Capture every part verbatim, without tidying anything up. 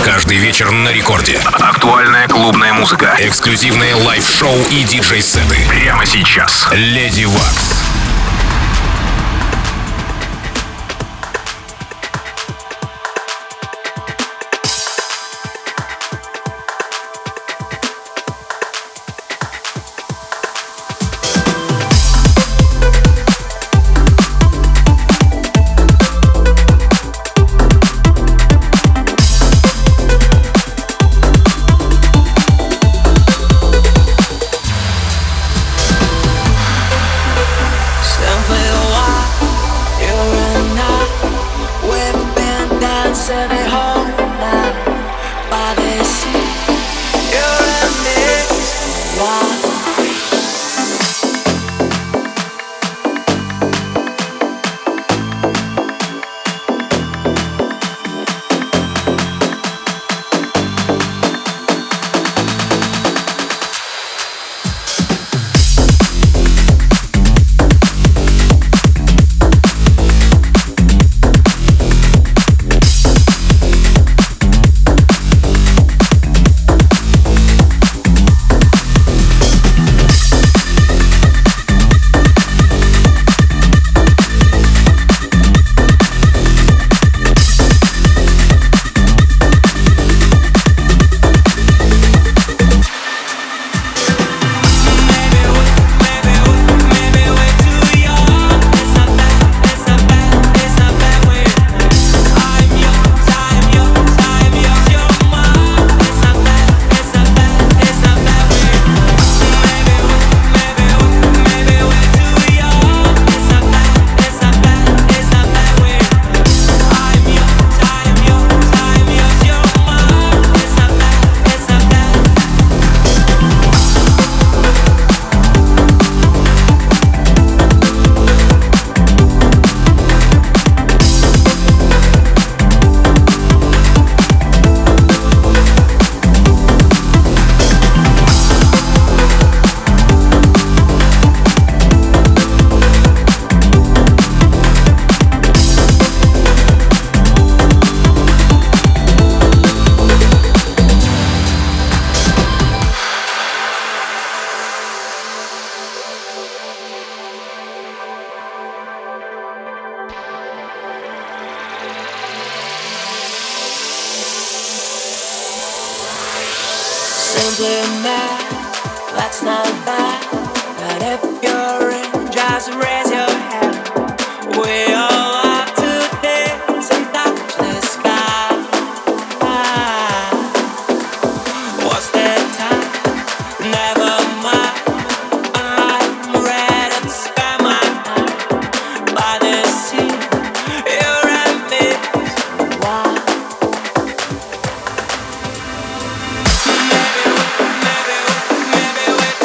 Каждый вечер на рекорде. Актуальная клубная музыка. Эксклюзивные лайв-шоу и диджей-сеты. Прямо сейчас. Леди Вакс.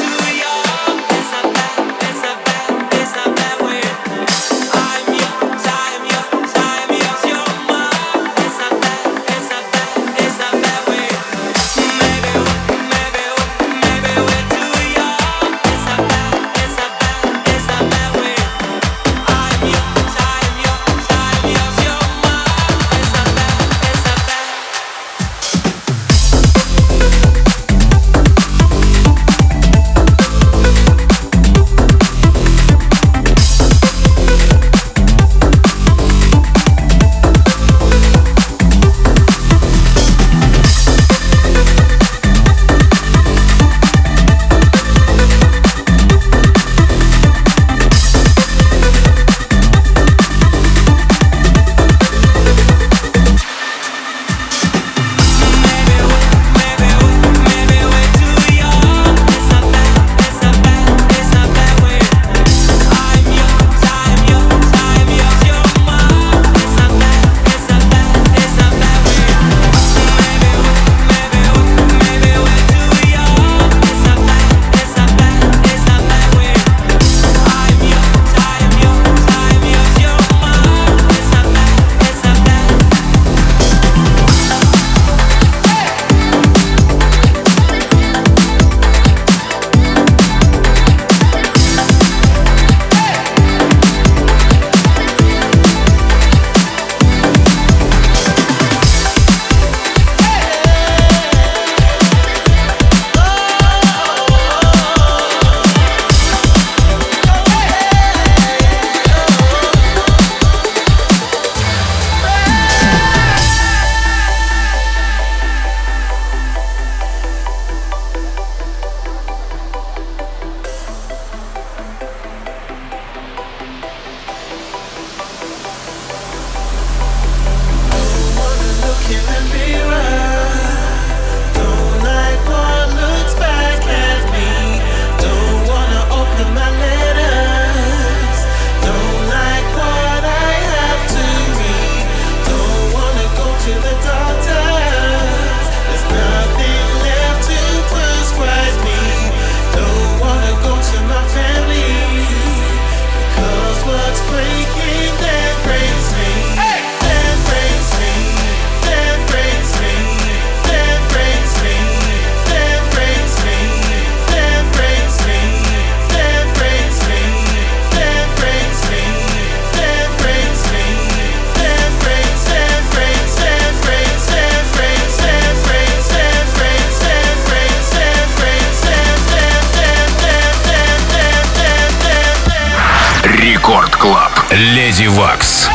It's a bad, it's a bad way. I'm yours. Леди Вакс.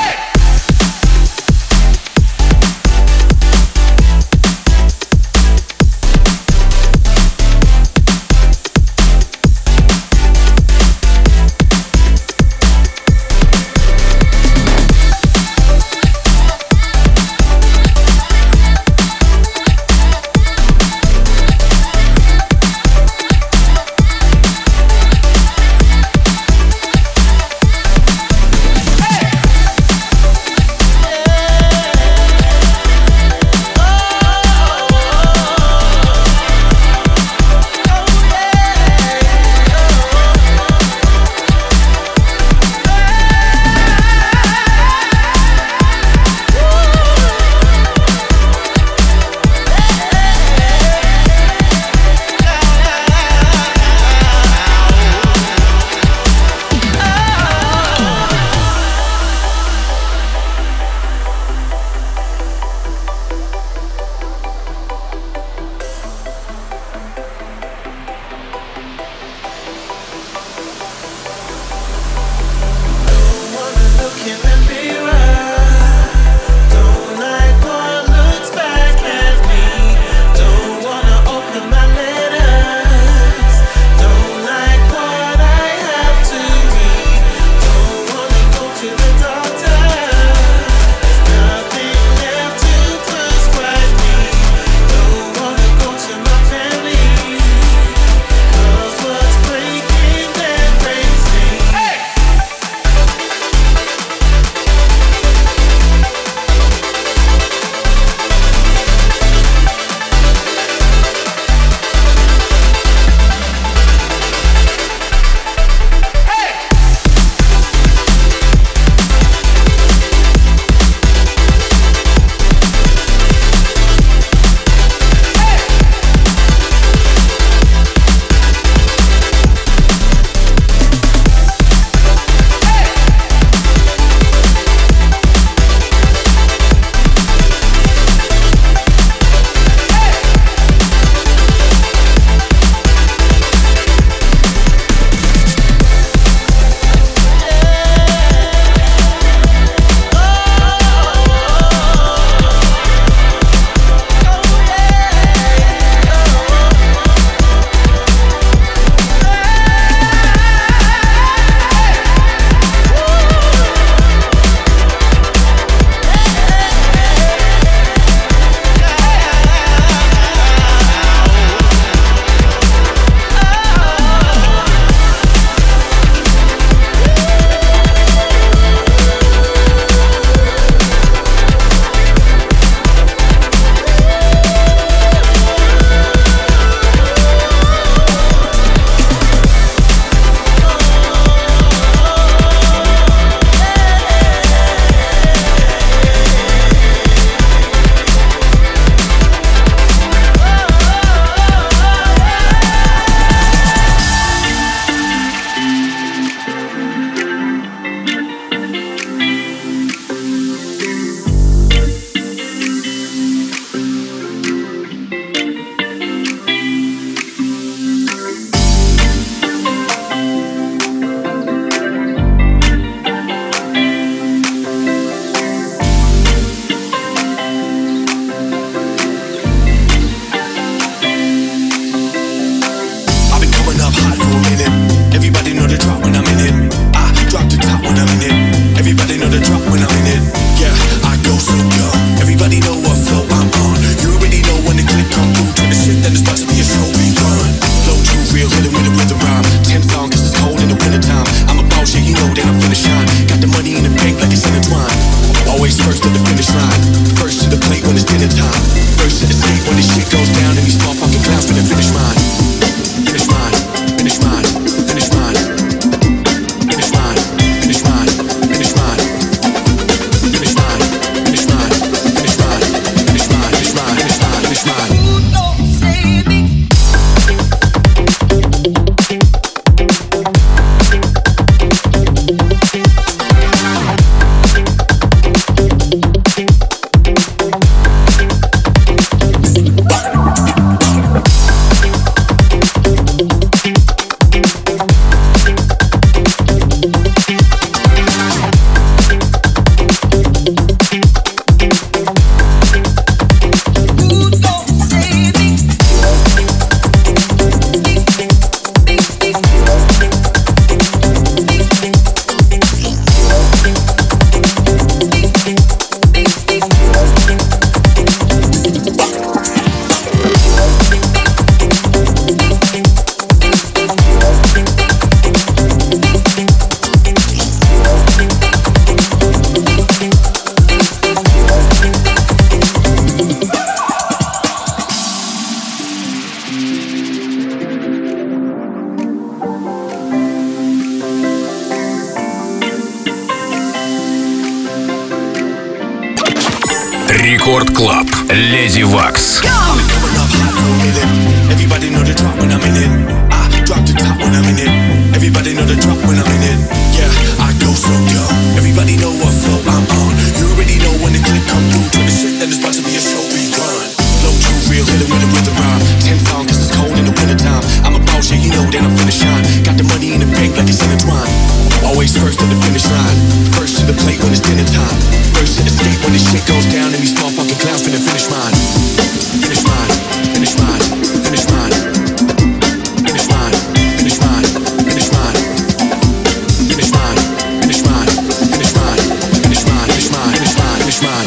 Рекорд Клаб. Леди Вакс. Everybody know the drop when I'm in it. I drop the top when I'm in it. Everybody know the drop when I'm in it. Yeah, I go so dumb. Everybody know what flow I'm on. You already know when the clip come through. Turn the shit, then it's about to be a show we run. Flow too real, hit it with a rhythm rhyme. Ten song, cause it's cold in the wintertime. I'm a boss, yeah, you know, then I'm finna shine. Got the money in the bank like it's intertwined. Always first at the finish line. First to the plate when it's dinner time. First to the skate when this shit goes down. And these motherfucking clowns finna finish mine. Finish mine, finish mine, finish mine. Finish mine, finish mine, finish mine. Finish mine, finish mine, finish mine. Finish mine, finish mine, finish mine, finish mine.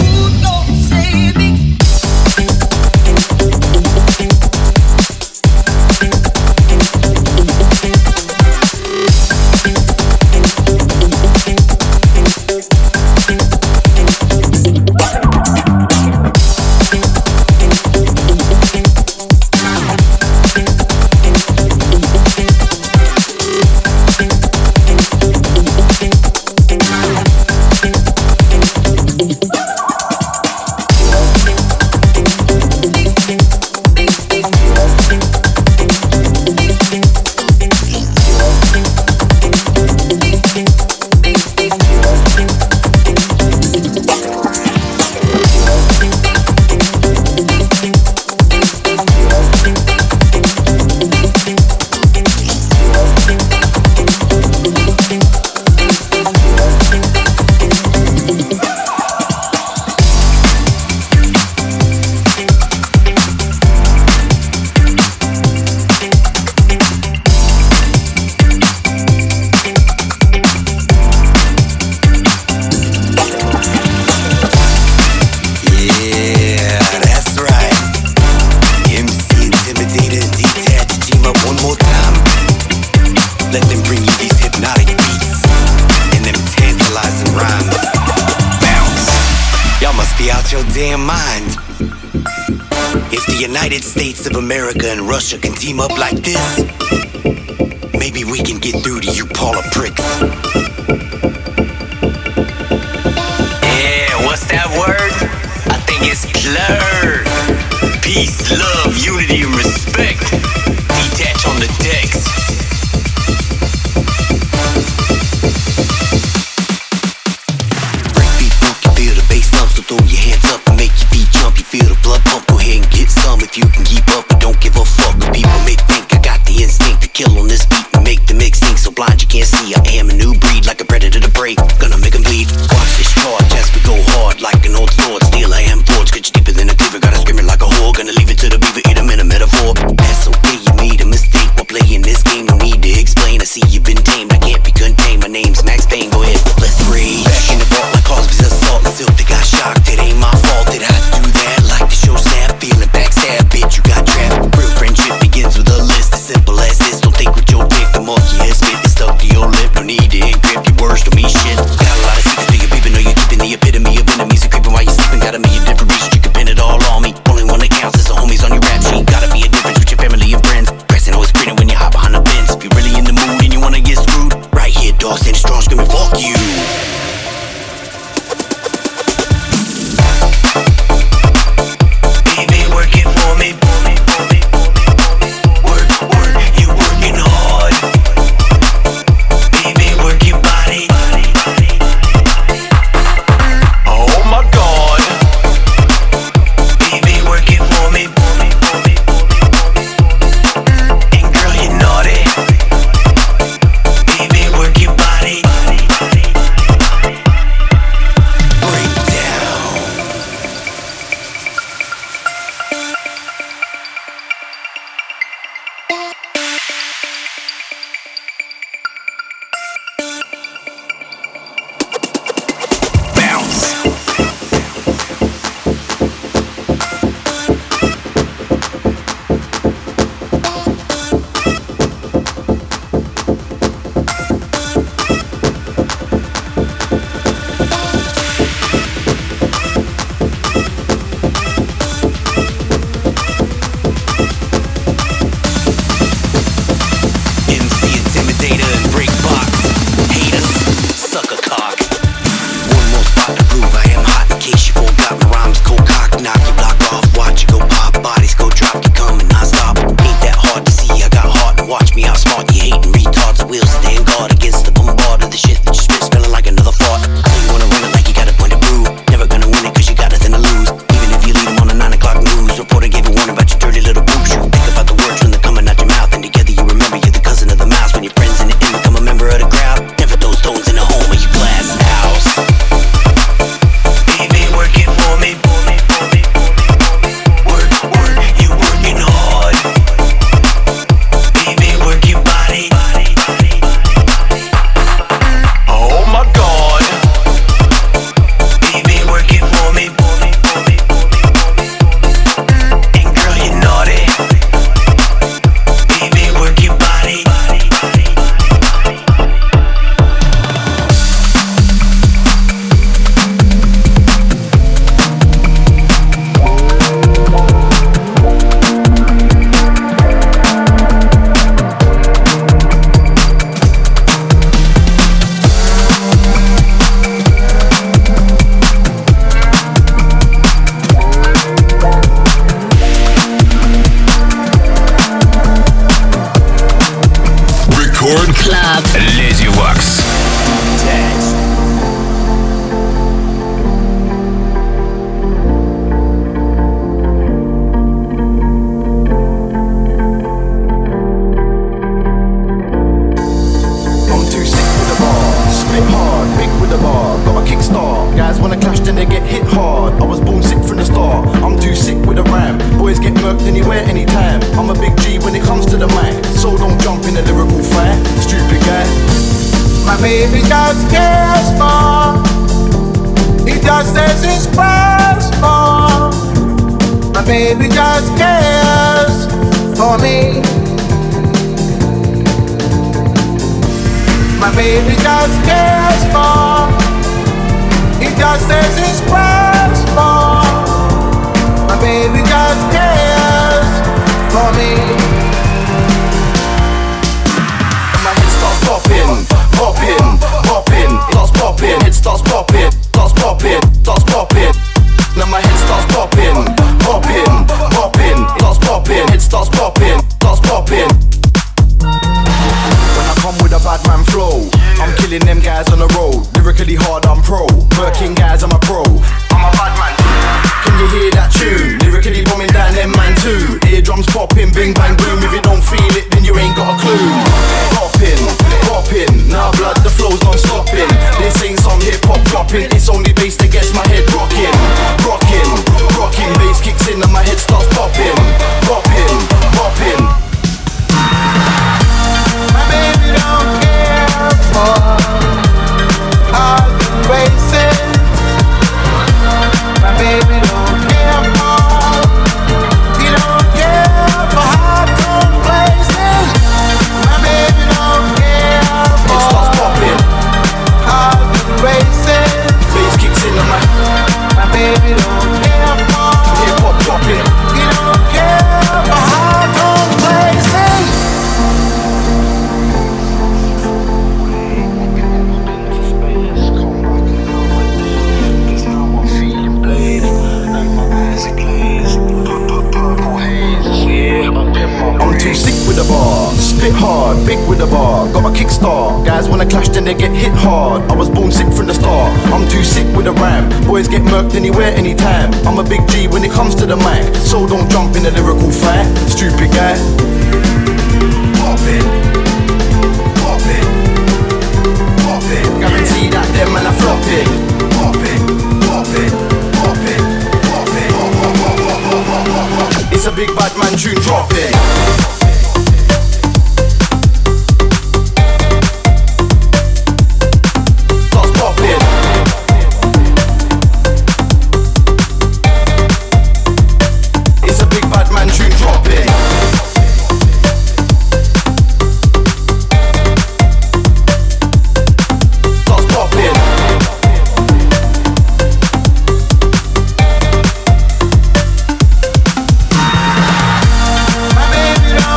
States of America and Russia can team up like this, maybe we can get through to you Paula pricks. Yeah, what's that word? I think it's plur. Peace, love, unity, and respect. Detach on the decks. Breakbeat funk, you feel the bass thump, so throw your hands up and make your feet jump. You feel the blood pump, go ahead and get some if you can keep up, but don't give a fuck. People may think I got the instinct to kill on this beat and make the mix stink so blind you can't see. I am a new breed, like a predator to prey, gonna make them bleed. Watch this charge as we go hard like an old sword. Still I am forged, cause you deeper than a cleaver. Gotta scream it like a whore, gonna leave it to the beaver, eat 'em in a metaphor. baby just cares for. He just says his prayers for. My baby just cares for me. My baby just cares for. He just says his prayers for. My baby just cares for me. My head starts popping, popping, popping. It starts popping, it starts popping, starts popping, starts popping. Now my head starts popping, popping, popping. It starts popping, it starts popping, starts popping. When I come with a bad man flow, I'm killing them guys on the road. Lyrically hard, I'm pro. Working guys, I'm a pro. I'm a bad man. Can you hear that tune? Lyrically bombing down them man too. Eardrums popping, bing bang boom. If you don't feel it, then you ain't got a clue. Popping, popping. Now blood, the flow's non-stopping. This ain't some hip-hop dropping. It's only bass that gets my head rocking. Rocking, rocking. Bass kicks in and my head starts popping. Popping, popping. My baby don't care for all the races. My baby don't care for. He don't care for hard-tone places. My baby don't care for. It starts popping. All the races. Bass kicks in and my My baby don't care for. hip-hop dropping. He don't care for hard-tone places. I'm too sick with the bar, spit hard, big with the bar. Got a kickstart, guys wanna clash then they get hit hard. I was born sick from the start, I'm too sick with the rhyme. Boys get murked anywhere, anytime. I'm a big G when it comes to the mic, so don't jump in a lyrical fight, stupid guy. Pop it, pop it, pop it. Guarantee that them man are flopping. Pop it, pop it, pop it, pop it. It's a big bad man tune dropping. My baby don't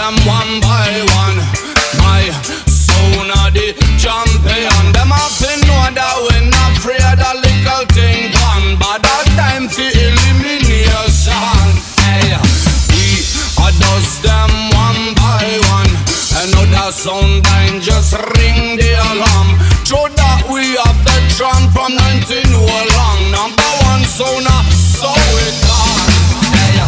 them one by one. My son of the champion. Them up in know that we not afraid of little thing one, but that time for elimination. Hey, we are dust them one by one. Another sound line just ring the alarm. Show that we have the tramp from nineteen oh long. Number one sound, so it's on. Hey.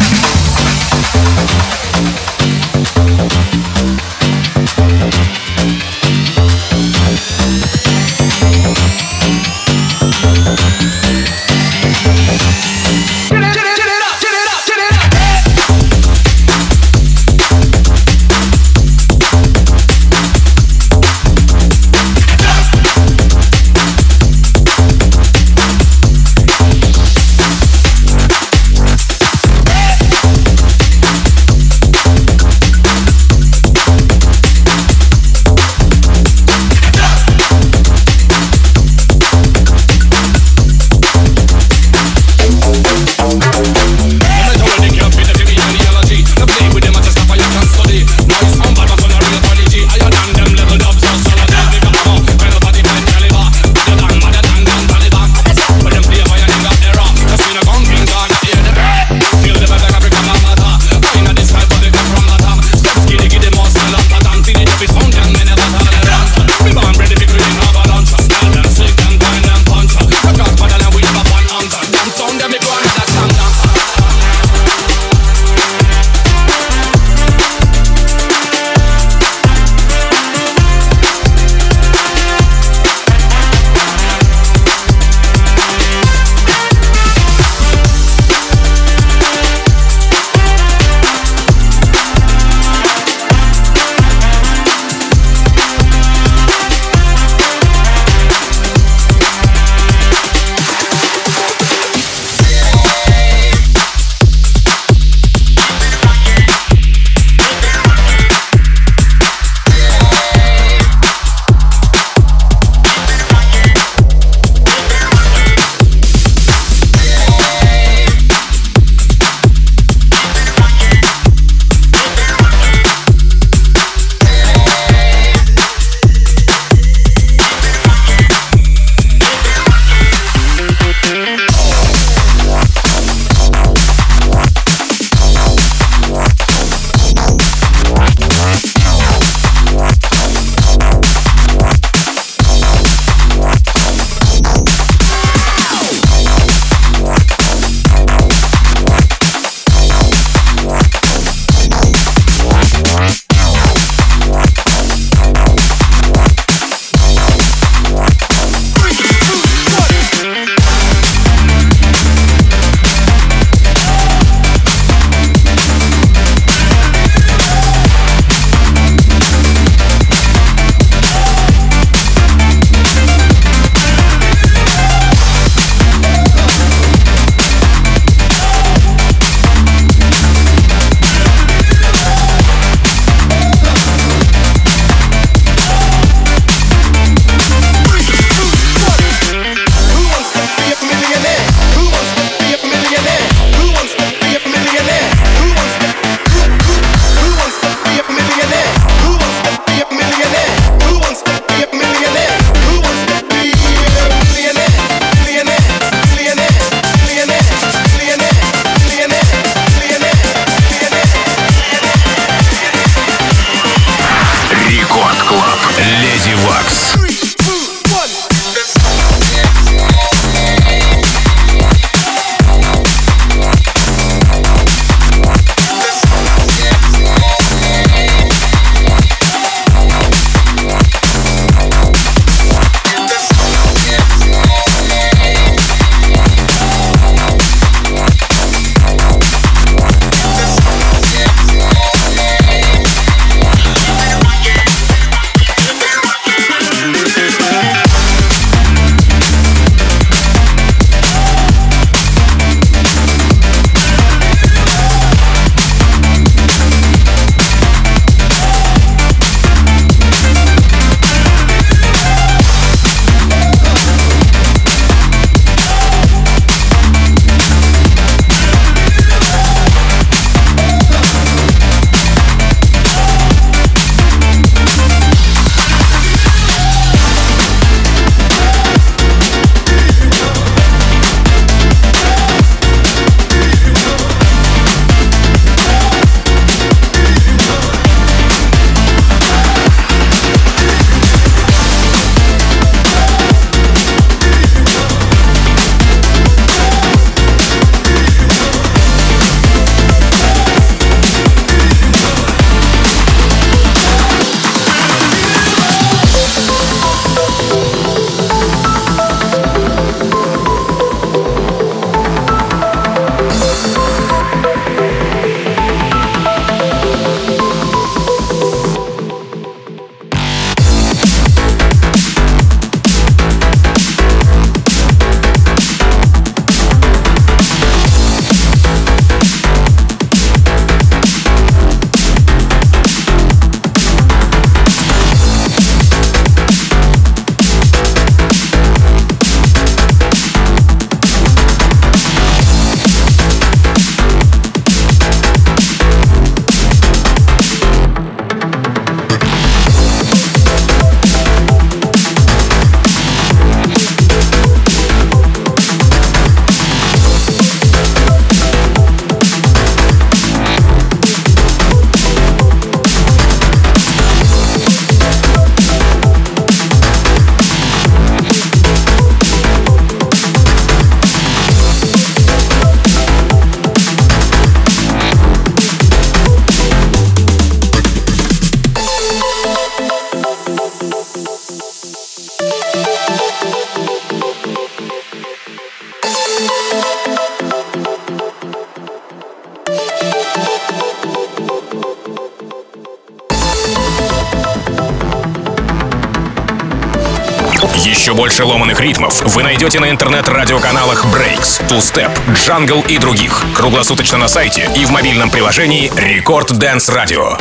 Еще больше ломаных ритмов вы найдете на интернет-радиоканалах Breaks, Two Step, Jungle и других. Круглосуточно на сайте и в мобильном приложении Record Dance Radio.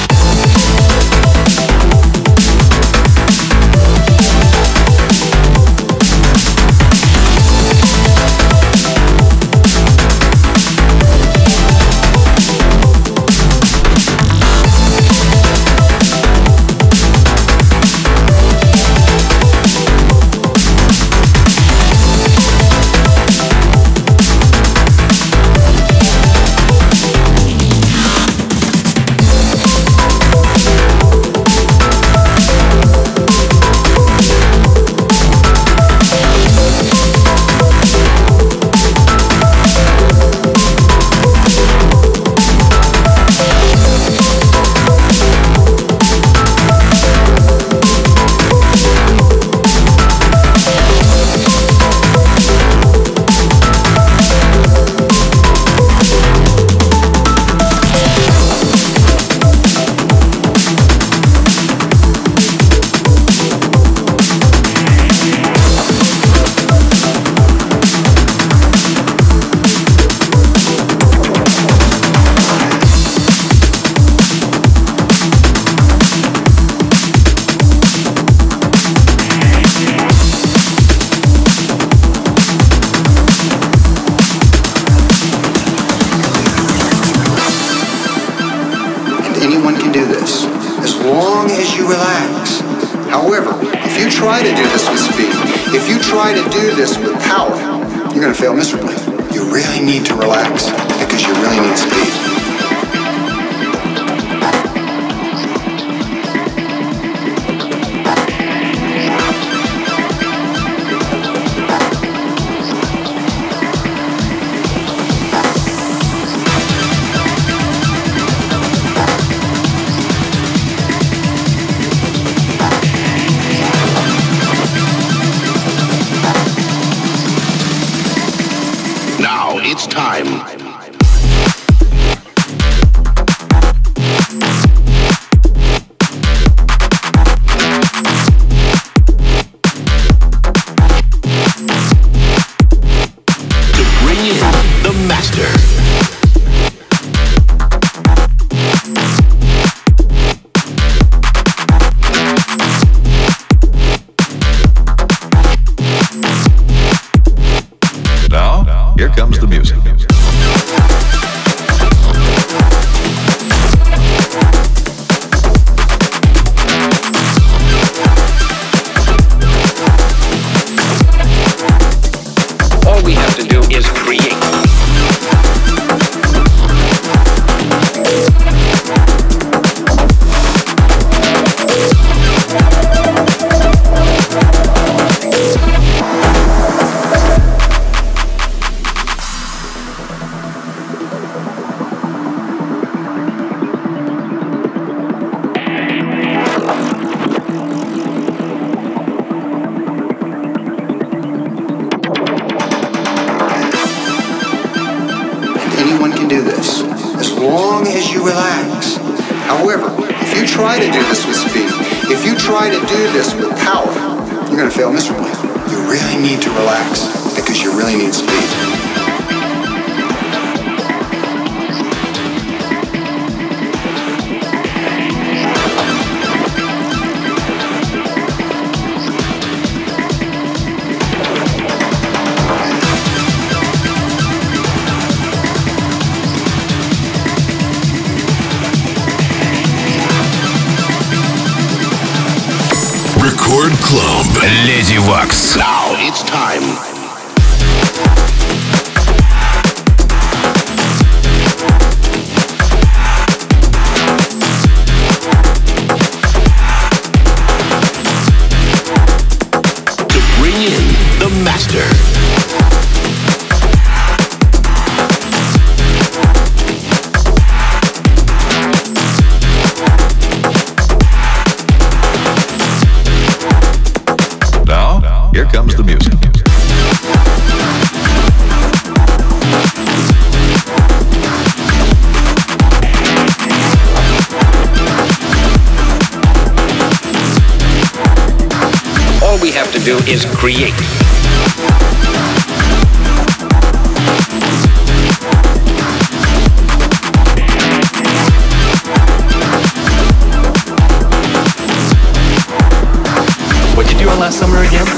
It's time. Club Lady Wax. Now it's time. To bring in the master. Here comes the music. to do is create. What'd you do on last summer again?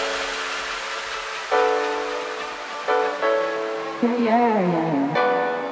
yeah, yeah.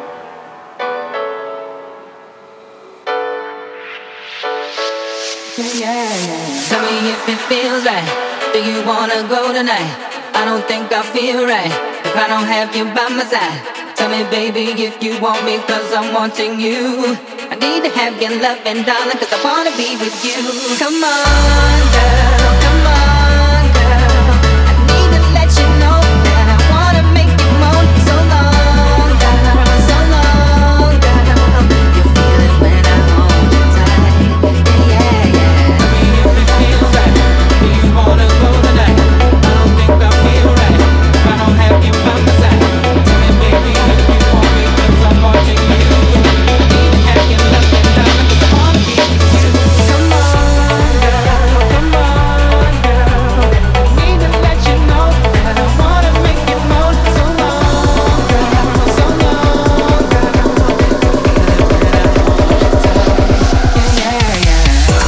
Tell me if it feels right. Do you wanna go tonight? I don't think I feel right if I don't have you by my side. Tell me, baby, if you want me, cause I'm wanting you. I need to have your love and darling, cause I wanna be with you. Come on, girl, come on, girl. I need to let you know that I wanna make you moan. So long, girl, so long, girl. You feel it when I hold you tight. Yeah, yeah, yeah. Tell me if it feels right. Do you wanna go tonight? I don't think I feel right if I don't have you by my side. Tell me, baby, if you want me, cause I'm wanting you. Need to have your love and darling, cause I wanna be with you. Come on, girl, come on, girl. Need to let you know that I wanna make you moan. So long, girl, so long, girl. You feel it when I hold you tight. Yeah, yeah, yeah.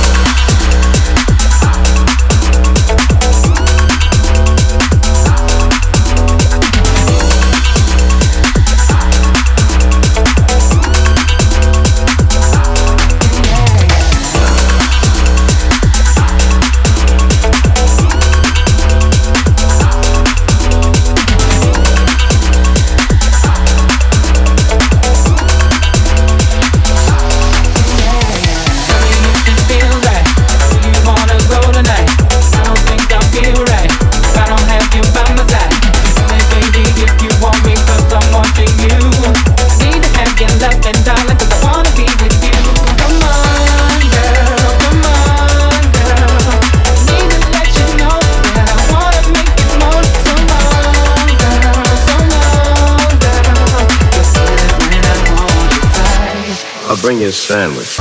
I'll bring you a sandwich.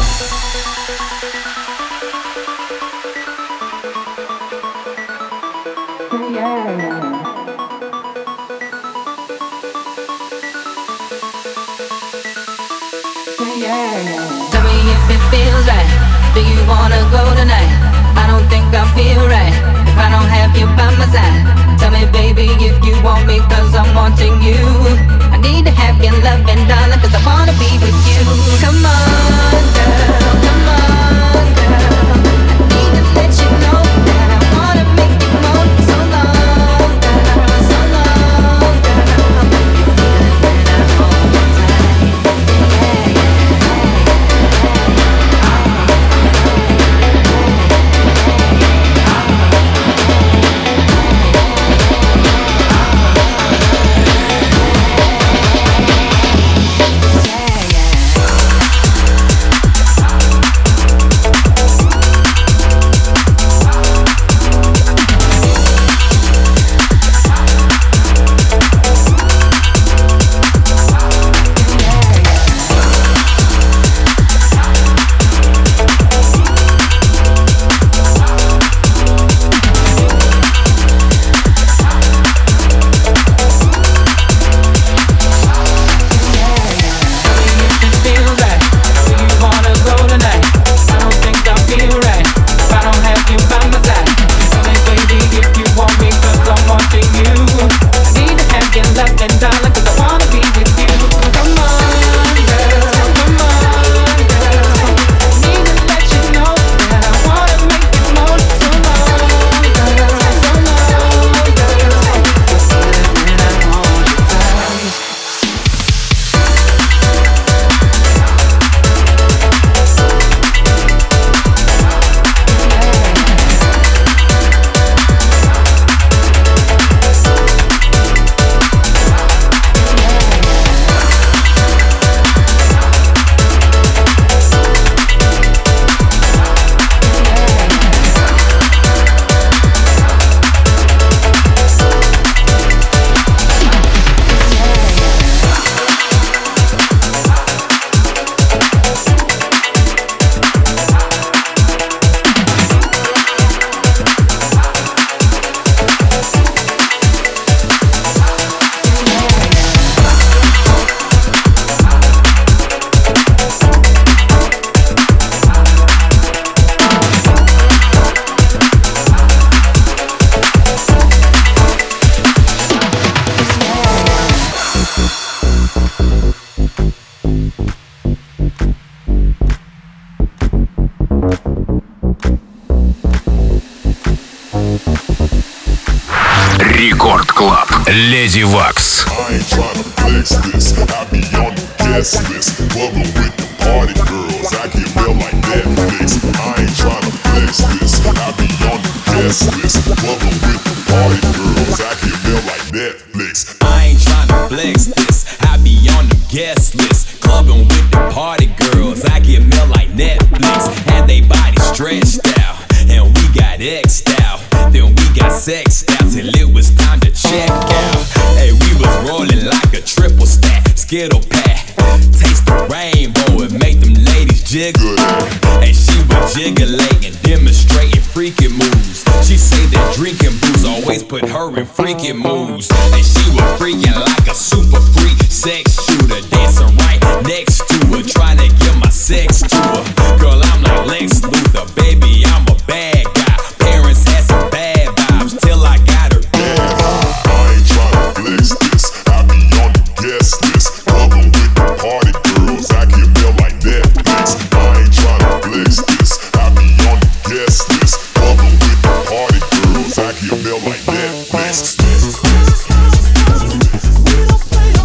Tell me if it feels right. Do you wanna go tonight? I don't think I feel right if I don't have you by my side. Tell me, baby, if you want me, cause I'm wanting you. I need to have your love and darling, cause I wanna be with you. Come on, girl, come on, girl. I need to let you know that I wanna make you moan. So long, girl, so long, girl. You feel it when I hold you tight. Yeah, yeah. Эдди Вакс. I ain't tryna flex this, I be on the guest list. Bubbling with the party girls, I get real like Netflix. I ain't tryna flex this, I be on the guest list. Bubbling with the party girls, I get real like Netflix. I ain't tryna flex this, I be on the guest list. Clubbing with the party girls, I get mail like Netflix. Had they body stretched out, and we got X'd out. Then we got sexed out till it was time to check out. Hey, we was rolling like a triple stack, Skittle pack. Taste the rainbow and make them ladies jiggle. And she was jiggling, demonstrating freaking moves. She say that drinking booze always put her in freaking moves. And she was freaking like a super freak sex shooter, dancing right next to her, trying to get my sex to her. Girl, I'm like Lex Luthor, baby, I'm a bad guy. Parents had some bad vibes till I got her. I ain't tryna flex this, I be on the guest list. Bubbling with the party girls, I get mail like Netflix. I ain't tryna flex this, I be on the guest list. Bubbling with the party girls, I get mail like Netflix. We don't play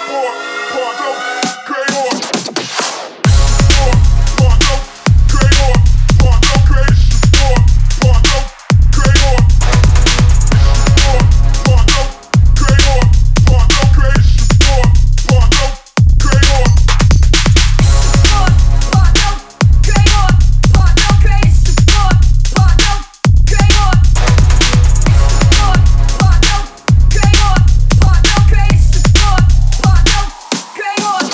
Creator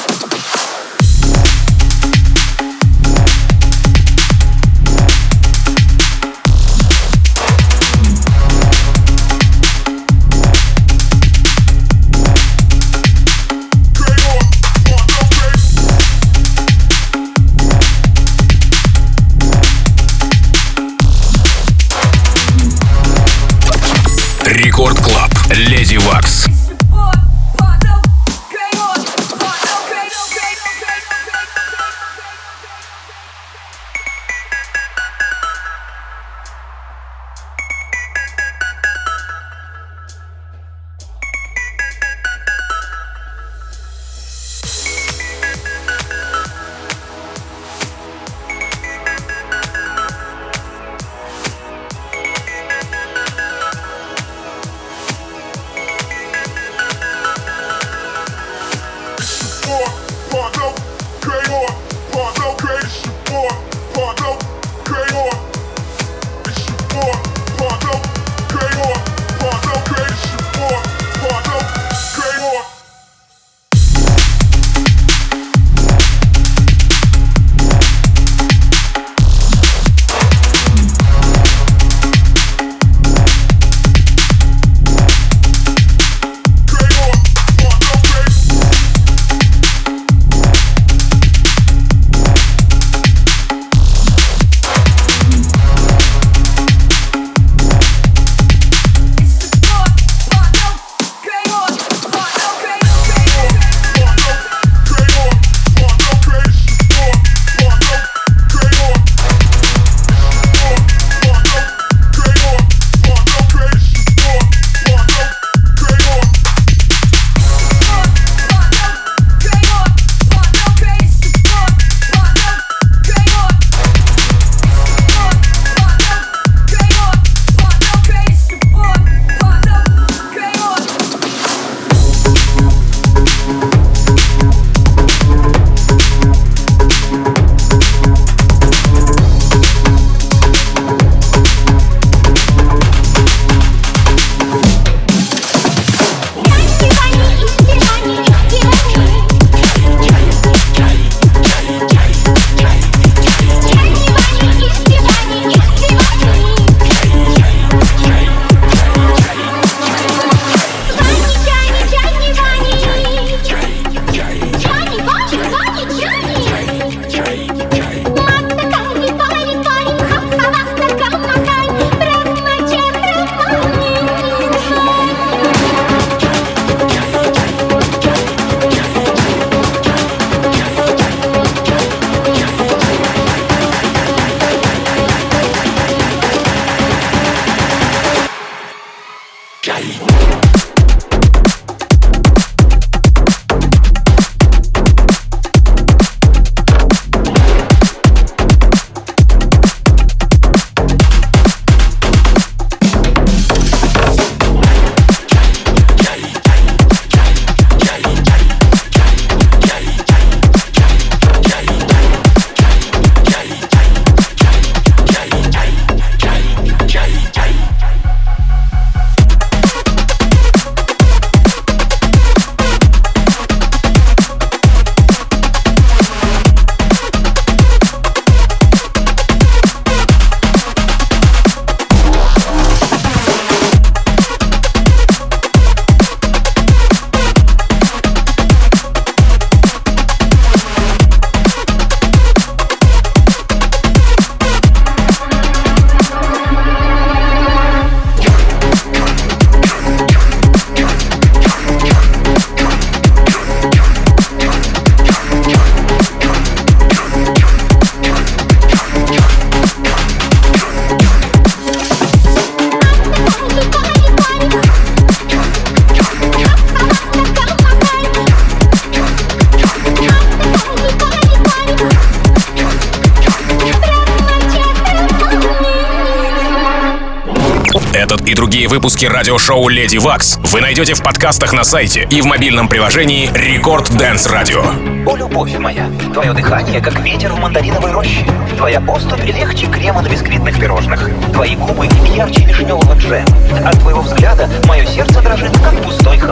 другие выпуски радиошоу «Леди Вакс» вы найдете в подкастах на сайте и в мобильном приложении Рекорд Dance Radio. О, любовь моя, твое дыхание, как ветер в мандариновой роще. Твоя поступь легче крема на бисквитных пирожных. Твои губы ярче вишневого джема. От твоего взгляда мое сердце дрожит, как пустой